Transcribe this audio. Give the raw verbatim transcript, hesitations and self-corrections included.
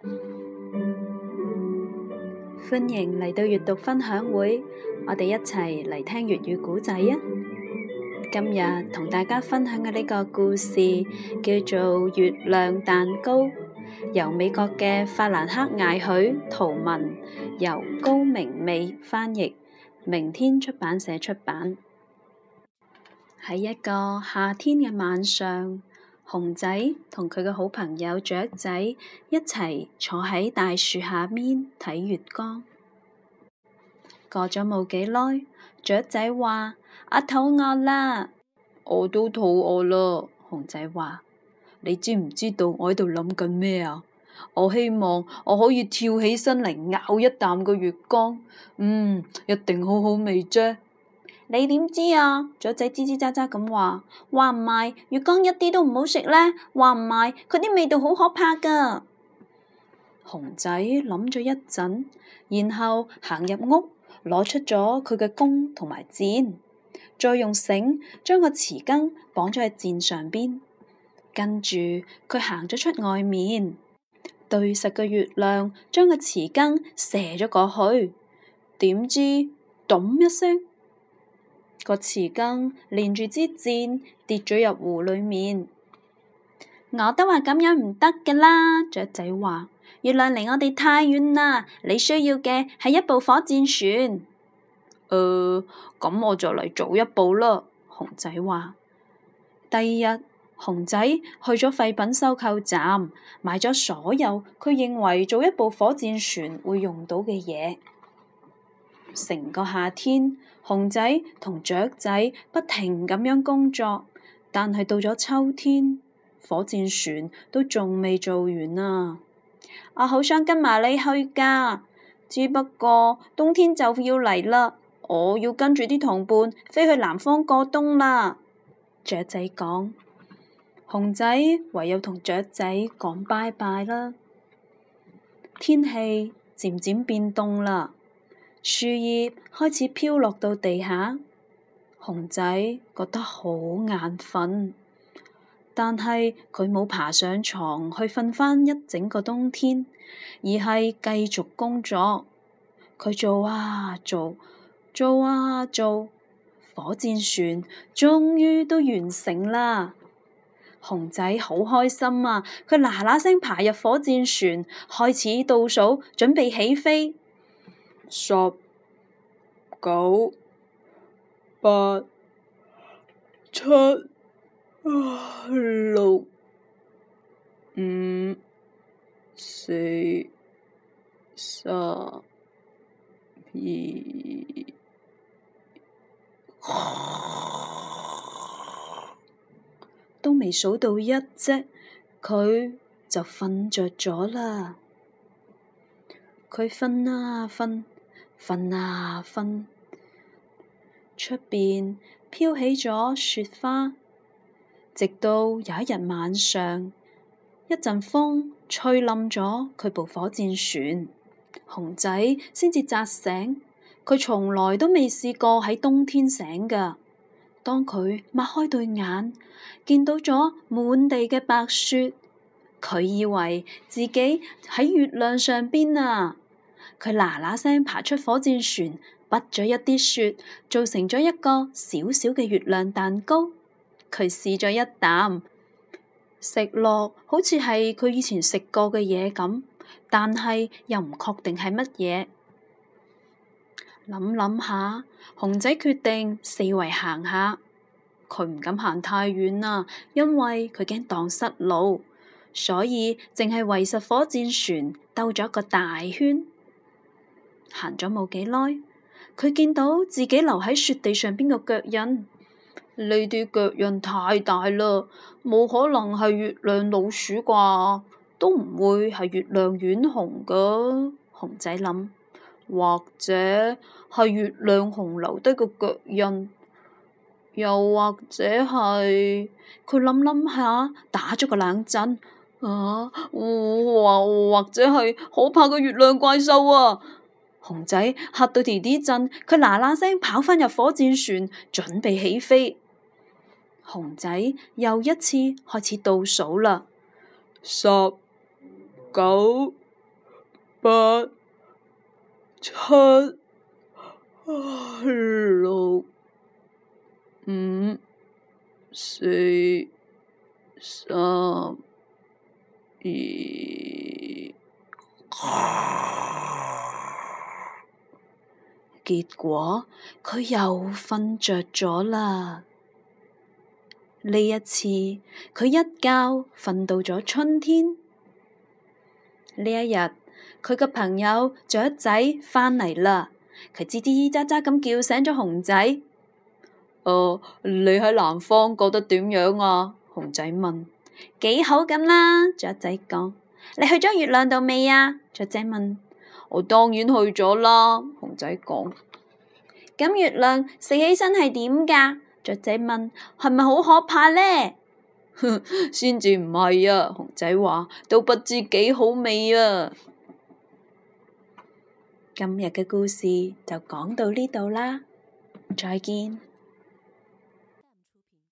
歡迎嚟到閱讀分享會，我哋一齊嚟聽粵語古仔啊！今日同大家分享嘅呢個故事叫做《月亮蛋糕》，由美國嘅法蘭克艾許圖文，由高明美翻譯，明天出版社出版。喺一個夏天嘅晚上，熊仔同佢嘅好朋友雀仔一齊坐喺大樹下面睇月光。過咗冇幾耐，雀仔話：我肚餓啦。我都肚餓啦。熊仔話：你知唔知道我喺度諗緊咩啊？我希望我可以跳起身嚟咬一啖個月光，嗯，一定好好味啫。你點知啊？雀仔吱吱喳喳咁話，話唔係月光一啲都唔好食呢？話唔係佢啲味道好可怕噶。熊仔諗咗一陣，然後行入屋，攞出咗佢嘅弓同埋箭，再用繩將個匙羹綁咗喺箭上邊，跟住佢行咗出外面，對實個月亮將個匙羹射咗過去，點知咚一聲，個匙羹連住支箭跌咗入湖裏面。我都話咁樣唔得㗎啦，雀仔話，月亮離我哋太遠啦，你需要嘅係一部火箭船。誒、呃，咁我就嚟做一部啦，熊仔話。第二日，熊仔去咗廢品收購站，買咗所有佢認為做一部火箭船會用到嘅嘢。成個夏天，熊仔同雀仔不停咁樣工作，但係到咗秋天，火箭船都仲未做完啊！我好想跟埋你去噶，只不過冬天就要嚟啦，我要跟住啲同伴飛去南方過冬啦。雀仔講，熊仔唯有同雀仔講拜拜啦。天氣漸漸變凍啦。樹葉開始飄落到地下，熊仔覺得好眼瞓，但係佢冇爬上床去瞓返一整個冬天，而係繼續工作。佢做啊做，做啊做，火箭船終於都完成啦。熊仔好開心啊！佢嗱嗱聲爬入火箭船，開始倒數，準備起飛。十九八七六五四三二，都未數到一啫，佢就瞓着咗啦。佢瞓啊瞓。瞓啊瞓，出邊飄起咗雪花，直到有一日晚上，一陣風吹冧咗佢部火箭船，熊仔先至扎醒。佢從來都未試過喺冬天醒㗎。當佢擘開對眼，見到咗滿地嘅白雪，佢以為自己喺月亮上邊啊！佢嗱嗱聲爬出火箭船，拔咗一啲雪，做成咗一個小小嘅月亮蛋糕。佢試咗一啖，食落好似係佢以前食過嘅嘢咁，但係又唔確定係乜嘢。諗諗下，熊仔決定四圍行下。佢唔敢行太遠啦，因為佢驚蕩失路，所以淨係圍實火箭船兜咗個大圈。行咗冇幾耐，佢見到自己留喺雪地上邊嘅腳印。呢啲腳印太大啦，冇可能係月亮老鼠啩，都唔會係月亮丸熊噶。熊仔諗，或者係月亮熊留低個腳印，又或者係佢諗諗下，打咗個冷震啊，或或者係可怕嘅月亮怪獸啊！熊仔嚇到地地震，佢嗱嗱聲跑返入火箭船，準備起飛。熊仔又一次開始倒數啦，十九八、七、六、五、四、三、二。結果佢又瞓着咗啦。呢一次佢一覺瞓到咗春天。呢一日佢嘅朋友雀仔返嚟啦，佢吱吱喳喳咁叫醒咗熊仔。誒、呃，你喺南方覺得點樣啊？熊仔問。幾好咁啦，雀仔講。你去咗月亮度未啊？雀仔問。我當然去咗啦，熊仔講。咁月亮食起身係點㗎？雀仔問。係咪好可怕呢？先至唔係啊，熊仔話，都不知幾好味啊。今日嘅故事就講到呢度啦，再見。